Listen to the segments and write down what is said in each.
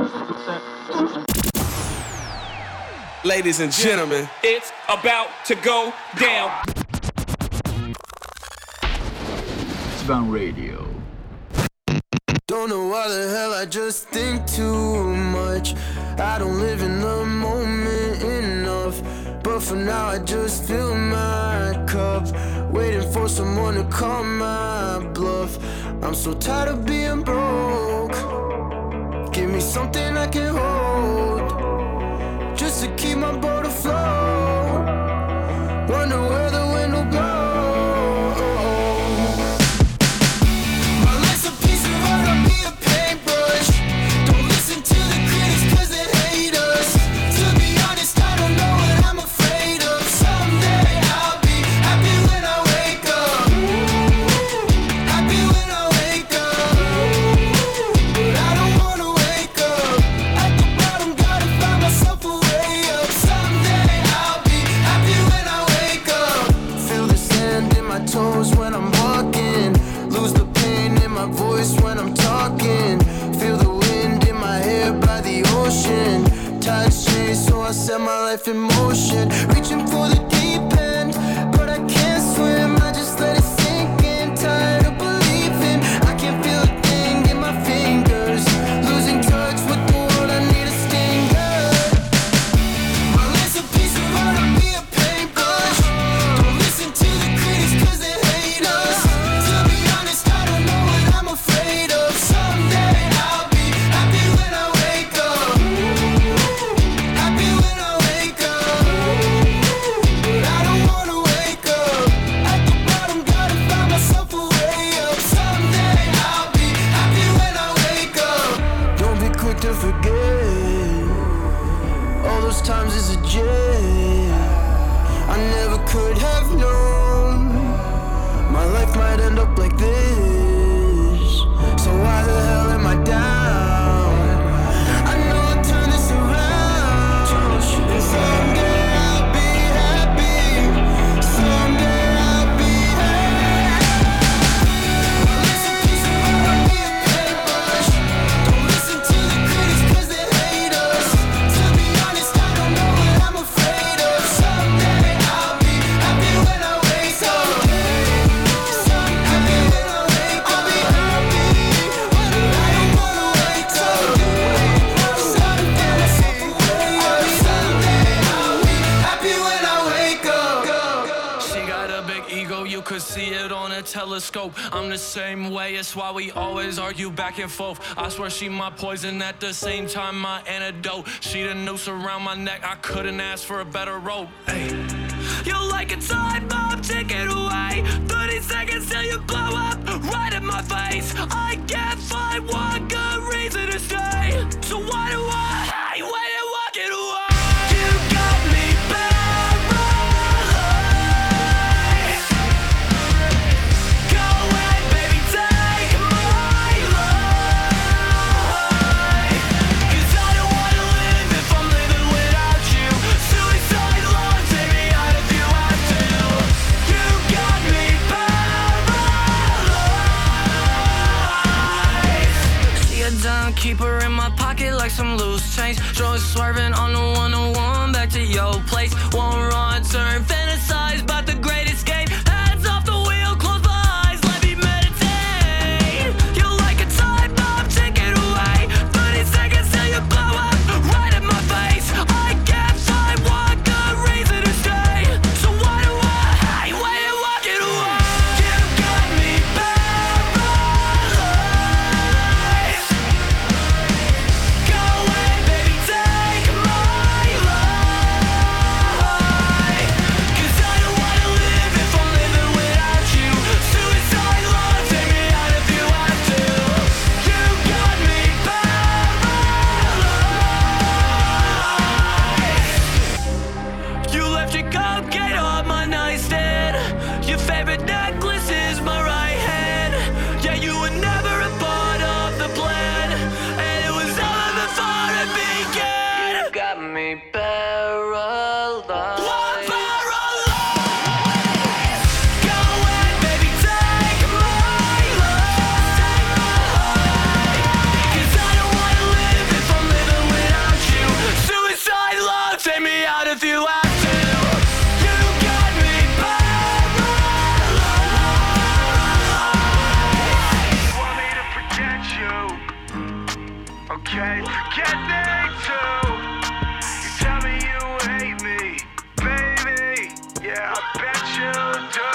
Ladies and gentlemen, it's about to go down. X-Bound Radio. Don't know why the hell I just think too much. I don't live in the moment enough. But for now I just fill my cup, waiting for someone to call my bluff. I'm so tired of being broke. Give me something I can hold, just to keep my boat afloat. Wonder where the wind will blow. My life's a piece of art, I'll be a paintbrush. Don't listen to the critics cause they hate us. To be honest, I don't know what I'm afraid of. Someday I'll be happy when I wake up. Happy when I wake up. But I don't wanna wake up at the bottom, gotta find myself a way up. Someday I'll be happy when I wake up. Feel the sand in my toes when I'm walking. Lose the pain in my voice when I'm talking. Feel the wind in my hair by the ocean. Tides change so I set my life in motion. Reaching for the deep end, but I can't swim, I just let it sink in. Tired of believing, I can't feel a thing in my fingers. Losing touch with the world, I need a stinger. My life's a piece of art, I'll be a paintbrush. Don't listen to the critics cause they hate us. To be honest, I don't know what I'm afraid of. Someday I'll be happy when I wake up. Happy when I wake up. But I don't wanna wake up at the bottom, gotta find myself a way up. Someday I'll be happy when I wake up. Don't be quick to forget all those times as a jet. I never could have known my life might end up like this. So why the hell am I down? I know I'll turn this around. And someday I'll be happy. Someday I'll be happy. My life's a piece of art, I'll be a paintbrush. Don't listen to the critics cause they hate us. To be honest, I don't know what I'm afraid of. Someday I'll be happy when I wake up. Happy when I wake up. I'll be happy when I don't wanna wake up. Someday I'll be happy when I wake up. She got a big ego, you could see it on a telescope. I'm the same way, it's why we always argue back and forth. I swear she my poison, at the same time my antidote. She the noose around my neck, I couldn't ask for a better rope. Ay. You're like a time bomb, take it away. 30 seconds till you blow up, right in my face. I can't find one good reason to stay. So why do I wait and walk it away? You got me paralyzed. Go away, baby, take my life. 'Cause I don't wanna live if I'm living without you. Suicide love, take me out if you have to. You got me paralyzed. See a dime, keep her in my pocket like some loose change. Drugs swerving on the 101 back to your place. One wrong turn, fantasize about the great escape. Hands off the wheel, close my eyes, let me meditate. You're like a time bomb, take it away. 30 seconds till you blow up, right in my face. I can't find one good reason to stay. So why do I wait and walk it away? You got me paralyzed. Go away, baby, take my life. 'Cause I don't wanna live Okay, forget me too. You tell me you hate me, baby. Yeah, I bet you do.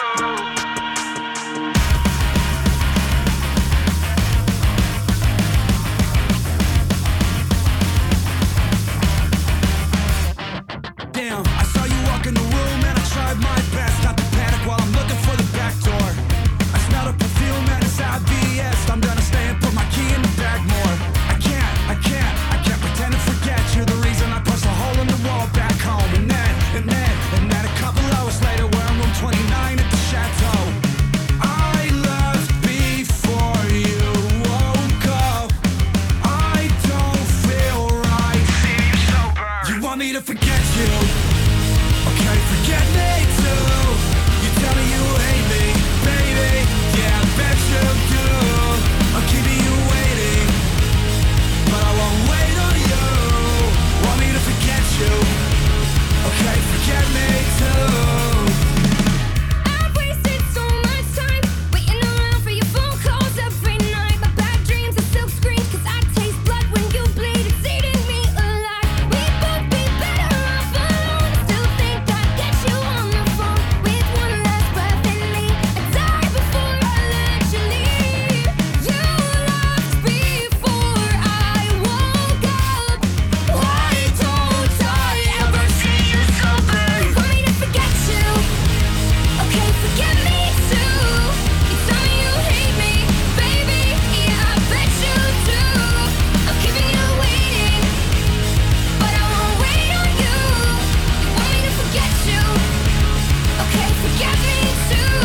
Damn, I saw you walk in the room and I tried my best not to panic while I'm looking for the back door. I smelled a perfume and it's IBS. I'm gonna stay and put my key in the bag more. I can't pretend to forget. You're the reason I punched a hole in the wall back home. And then a couple hours later we're in room 29 at the chateau. I left before you woke up. I don't feel right. See you sober. You want me to forget you? Okay, forget me too. You tell me you hate me, baby. Yeah, I bet you do. I'm keeping you waiting, but I won't wait on you. Want me to forget you? Okay, forget me too. I've wasted so much time waiting around for your phone calls every night. My bad dreams are silk screens 'cause I taste blood when you bleed. It's eating me alive. We both be better off alone. Still think I'd get you on the phone with one last breath in me. I die before I let you leave. You left before I woke up. Why don't I ever see you sober? You want me to forget you? Okay, forget me too. You tell me you hate me, baby. Yeah, I bet you do. I'm keeping you waiting, but I won't wait on you. You want me to forget you? Okay, forget me too.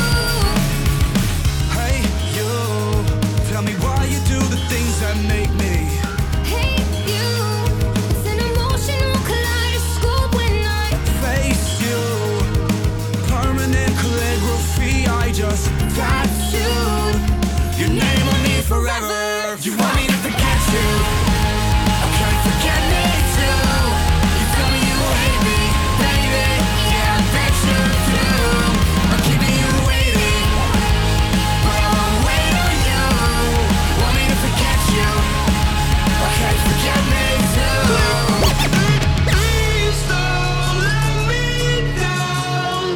Hey, you. Tell me why you do the things that make me. Hate you. It's an emotional kaleidoscope when I Face you, permanent calligraphy. I just tattooed your name on me forever. You want me to forget you? Okay, forget me too. You tell me you hate me, baby. Yeah, I bet you do. I'm keeping you waiting, but I won't wait on you. Want me to forget you? Okay, forget me too. Please don't let me down.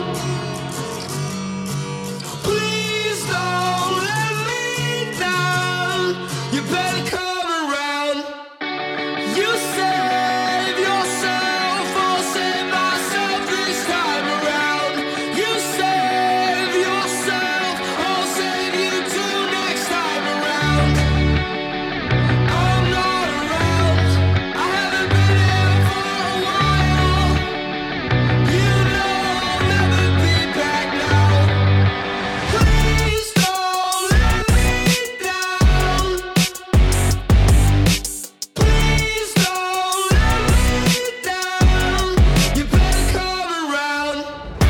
Please don't let me down. You better come around. You save yourself, I'll save myself this time around. You save yourself, I'll save you too next time around. I'm not around. I haven't been here for a while. You know I'll never be back now. Please don't let me down. Please don't let me down. You better come around.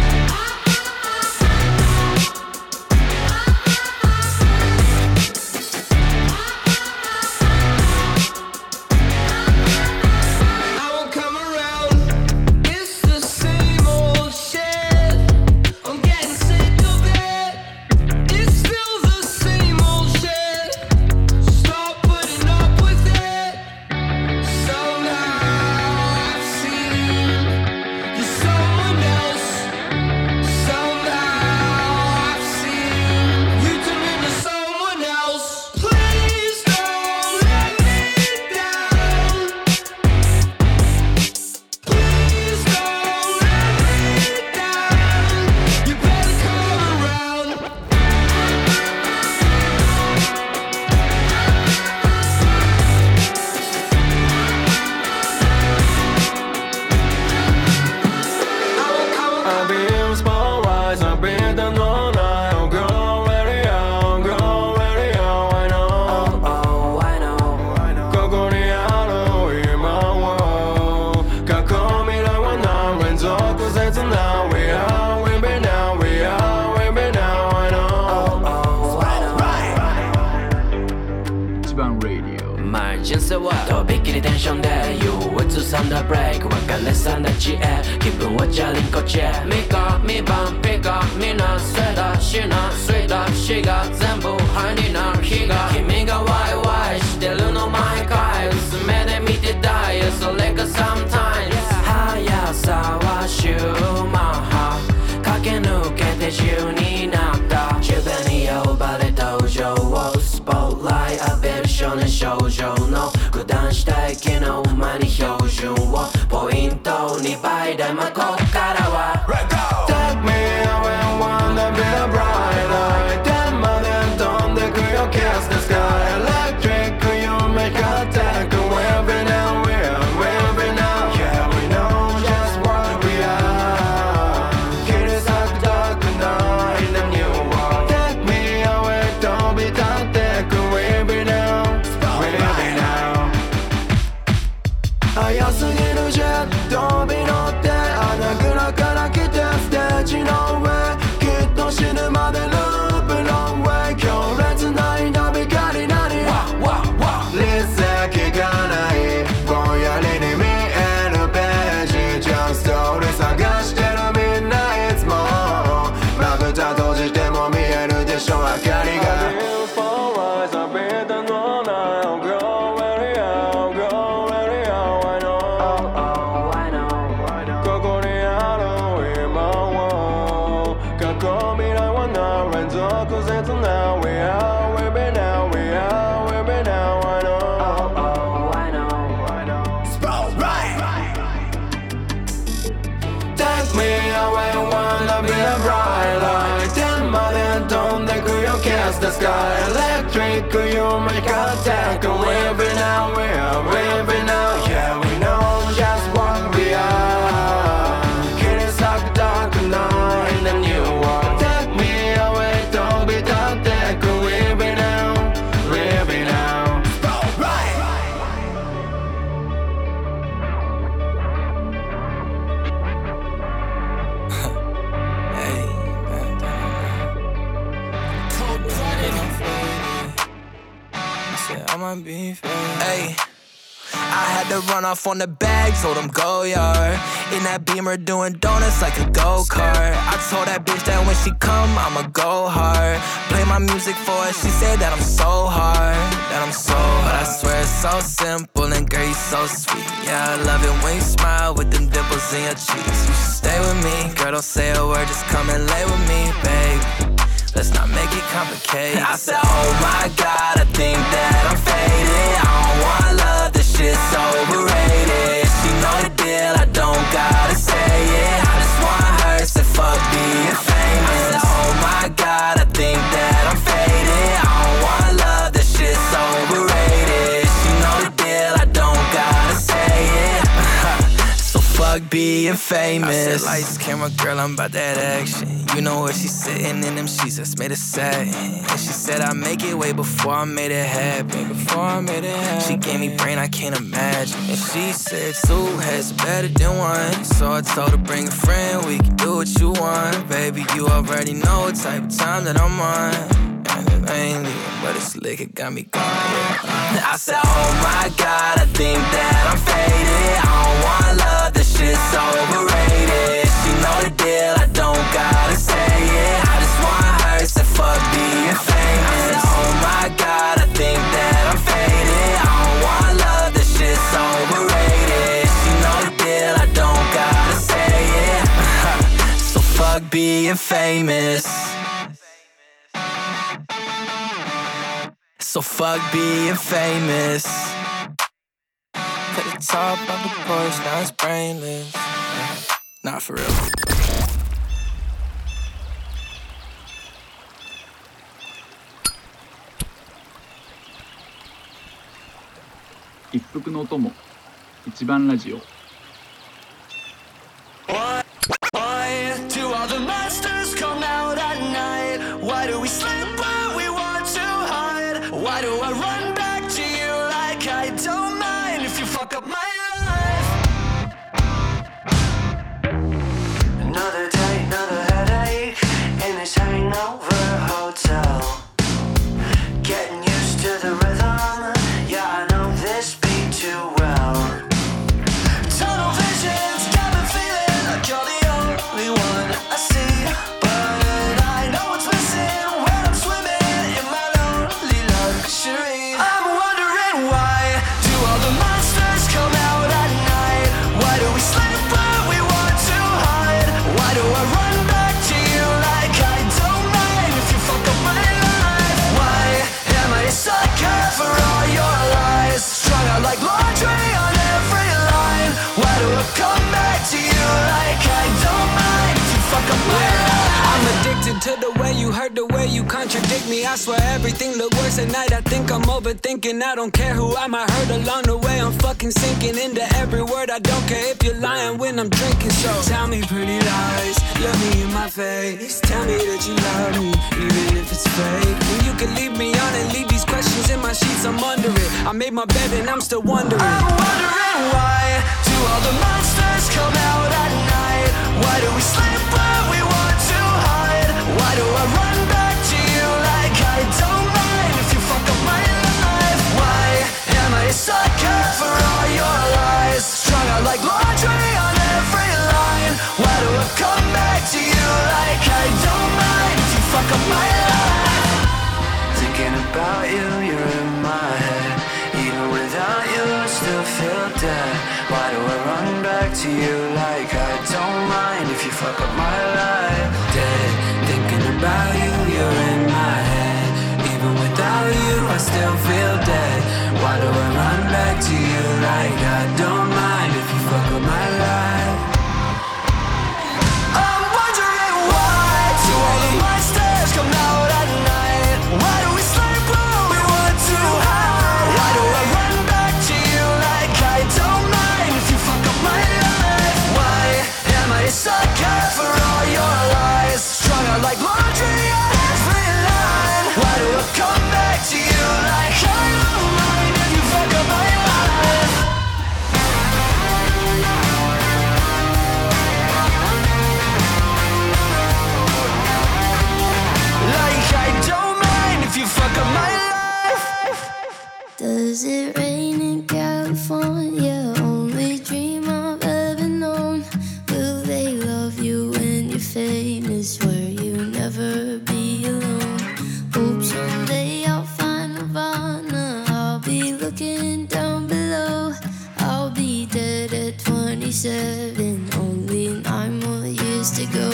I won't come around. It's the same old shit. I'm getting sick of it. It's still the same old shit. Stop putting up with it. Somehow I've seen you're someone else. Somehow I've seen you turn into someone else. Please don't let me down. Please don't let me down. You better come around. I've been spotlights, I've been down all night. I'm grown very young, I know. Oh, I know. ここにある今を囲みながら連続切な We are, we be now, we are, we be now, I know. Oh, I know. 一番 Radio。 My 人生はとびきりテンションで憂鬱サンダーブレイク別れさんだ知恵気分はじゃりんこチェミカミバンピカみんなスレだしなスイだしが全部灰になる日が君がワイワイしてるの毎回薄め表情の九段下駅の馬に標準をポイント2倍でまあこっからは Take me away wanna be a bright light 天まで飛んでくよ Kiss the sky Electric you make a take We'll be now we'll be now Yeah we know just what we are 切り裂くdark night in the new world Take me away 飛び立ってく We'll be now we'll be now 早すぎるジェット飛び乗って穴蔵から来てステージの上きっと死ぬまでループの上強烈な稲光なり理性聞かないぼんやりに見えるページ Just ストーリー探してるみんないつもまぶた閉じても見えるでしょ明かりがThe sky electric you make a take We'll be now we'll be now Yeah we know just what we are 切り裂くdark night in the new world Take me away 飛び立ってく We'll be now we'll be now Hey, I had to run off on the bag, told him go yard. In that Beamer doing donuts like a go-kart. I told that bitch that when she come, I'ma go hard. Play my music for her, she said that I'm so hard. But I swear it's so simple and girl, you so sweet. Yeah, I love it when you smile with them dimples in your cheeks. You should stay with me, girl, don't say a word, just come and lay with me, babe. Let's not make it complicated. I said, oh my God, I think that I'm faded. I don't want love, this shit's overrated. She know the deal, I don't gotta say it. I just want her to fuck being famous. I said, oh my God, I think that I'm faded. I don't want love, this shit's overrated. She know the deal, I don't gotta say it. So fuck being famous. I said, lights, camera, girl, I'm about that action. You know where she's sitting in them sheets, that's made her sad. And she said I make it way before I made it happen. She gave me brain I can't imagine. And she said 2 heads better than 1. So I told her bring a friend, we can do what you want. Baby, you already know what type of time that I'm on. And I ain't leaving, but it's liquor got me going, yeah. I said, oh my God, I think that I'm faded. I don't want love, this shit's overrated. She know the deal, I don't gotta say it. I just want her to fuck being famous. I said, oh my God, I think that I'm faded. I don't want love, this shit's overrated. She know the deal, I don't gotta say it. So fuck being famous. So fuck being famous. Put the top of the Porsche, now it's brainless. Not for real. 一服のお供一番ラジオ Why do all the monsters come out at night? Why do we sleep when we want to hide? Why do I run back to you like I don't mind if you fuck up my life? Another day, another headache in this hangover hotel. Getting used to the rhythm, yeah, I know this beat too well. Tunnel visions got me feeling like listen to the way you hurt, the way you contradict me. I swear everything look worse at night. I think I'm overthinking. I don't care who I might hurt along the way. I'm fucking sinking into every word. I don't care if you're lying when I'm drinking. So tell me pretty lies, look me in my face. Tell me that you love me, even if it's fake. And you can leave me on and leave these questions in my sheets. I'm under it. I made my bed and I'm still wondering. I'm wondering why do all the monsters come out at night? Why do we sleep when we want to hide? Why do I run back to you like I don't mind if you fuck up my life? Why am I a sucker for all your lies? Strung out like laundry on every line. Why do I come back to you like I don't mind if you fuck up my life? Thinking about you, you're in my head. Even without you, I still feel dead. Why do I run back to you like I don't mind if you fuck up my life? Dead, thinking about you, you're in my head. Even without you, I still feel dead. Why do I run back to you like I don't mind if you fuck up my life? I'm wondering why do all the monsters come out at night? Why do we sleep when we want to hide? Why do I run back to you like I don't mind if you fuck up my life? Why am I a sucker for all your lies? Strung out like laundry on every line. Why do I come back to you like I don't mind if you fuck up my life? Like I don't mind if you fuck up my life. Does it rain in California? Only dream I've ever known. Will they love you when you're famous, where you never be alone? Hope someday I'll find Nirvana. I'll be looking down below. I'll be dead at 27. Only 9 more years to go.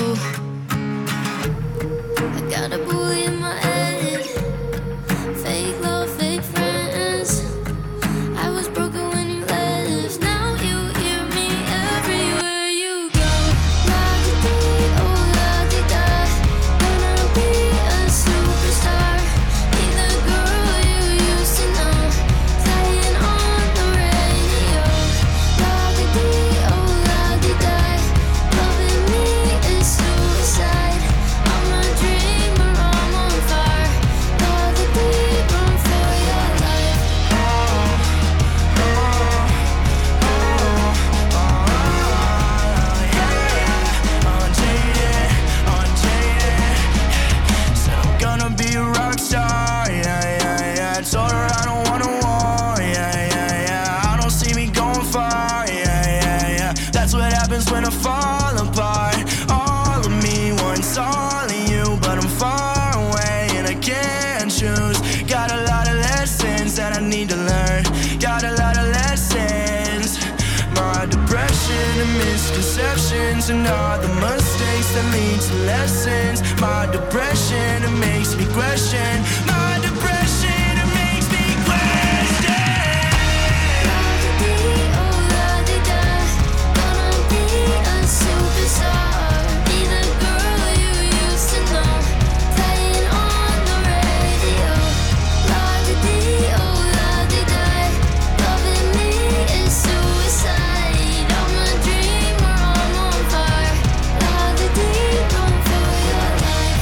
I got a bully in my head. Fake love, fake friends. I was broken when you left. Now you hear me everywhere you go. La-di-dee, oh la-di-da. Gonna be a superstar. Be the girl you used to know. Playing on the radio. La-di-dee, oh la-di-da. Loving me is suicide. I'm a dreamer, I'm on fire. La-di-dee, run for your life. Said I'm gonna be a rock star, yeah, yeah, yeah. Told her I don't want a war, yeah, yeah, yeah. I don't see me going far, yeah, yeah, yeah. That's what happens when I fall apart. All of me wants all of you, but I'm far away and I can't choose. Got a lot of lessons that I need to learn. Got a lot of lessons. My depression and misconceptions and all the mistakes that lead to lessons. My depression, it makes me question. My depression, it makes me question. La-di-dee, oh la-di-da. Gonna be a superstar. Be the girl you used to know. Playing on the radio. La-di-dee, oh la-di-da. Loving me is suicide. I'm a dreamer, I'm on fire. La-di-dee, run for your life.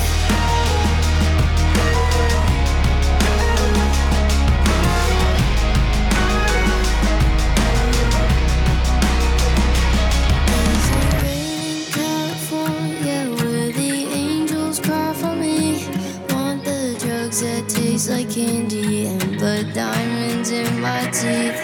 There's a rain in California where the angels cry for me. Want the drugs that taste like candy and blood diamonds in my teeth.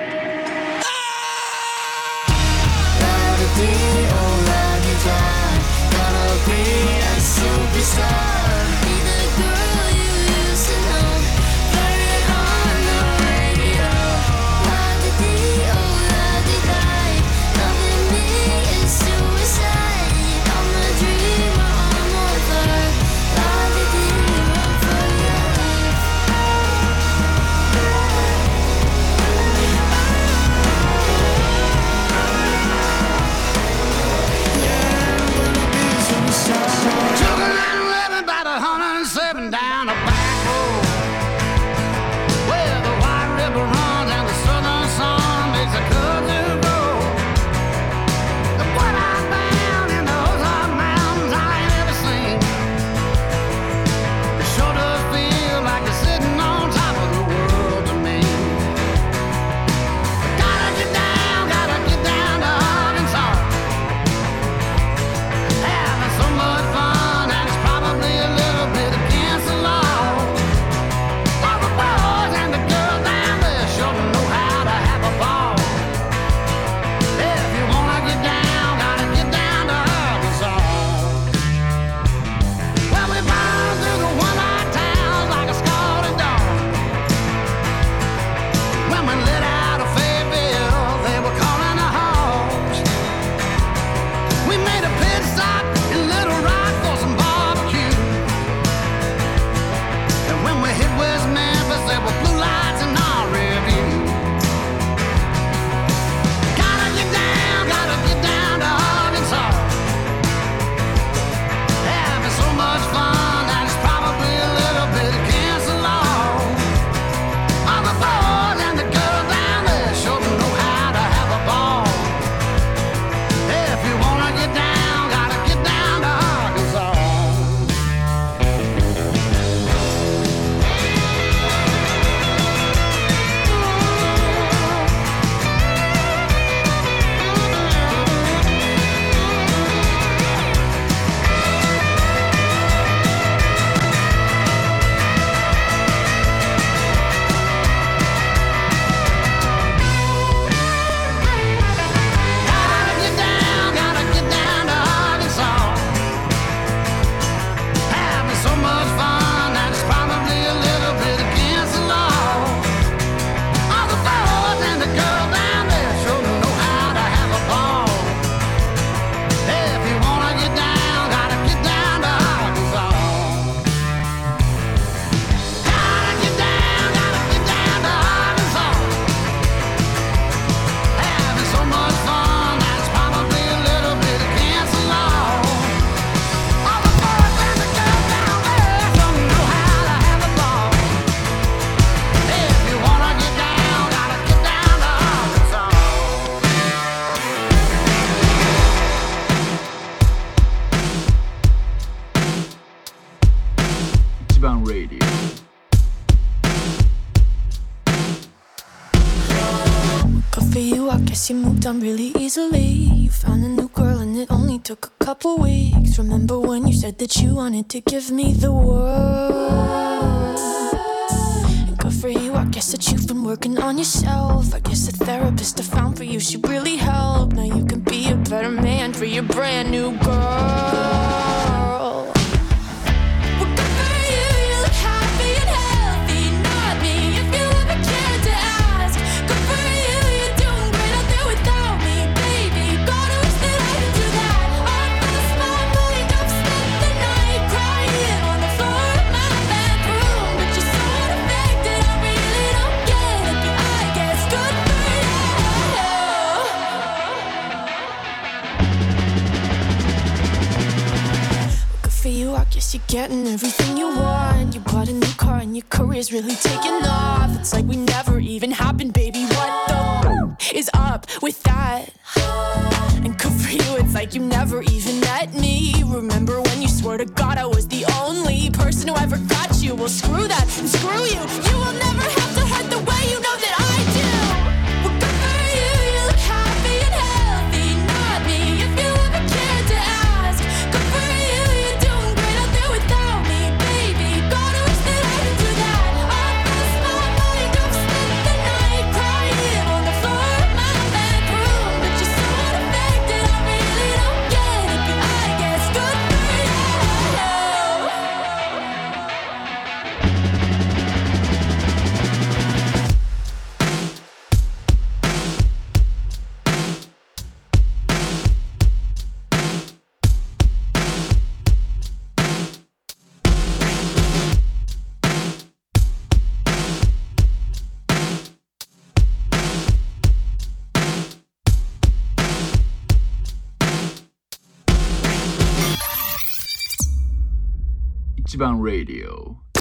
La-di-dee, oh la-di-da. Gonna be a superstar. Be the girl you used to know. Playing on the radio. La-di-dee, oh la-di-da. Loving me is suicide. I'm a dreamer, I'm on fire. La-di-dee, run for your life. Yeah, I'm gonna be a superstar. Juggling I guess you moved on really easily. You found a new girl and it only took a couple weeks. Remember when you said that you wanted to give me the world? And good for you, I guess that you've been working on yourself. I guess the therapist I found for you, she really helped. Now you can be a better man for your brand new girl. Well, good for you, you look happy and healthy. Not me, if you ever cared to ask. Good for you, you're doing great out there without me, baby. Gotta wish that I could do that. I lost my mind, I've spent the night crying on the floor of my bathroom. But you're so unaffected, I really don't get it. But I guess good for you. Good for you, I guess you're getting everything you want. You bought a new car and your career's really taking off. It's like we never even happened, baby. What the is up with that? And good for you, it's like you never even met me. Remember when you swore to God I was the only person who ever got you? Well, screw that and screw you. You will never have to hurt the way you know that I do. Well, good for you, you look happy and healthy. Not me, if you ever cared to ask. Good for you, you're doing great out there without me, baby. Gotta wish that I could do that. I lost my mind, I've spent the night crying on the floor of my bathroom. But you're so unaffected, I really don't get it. But I guess good for you. 1番ラディオ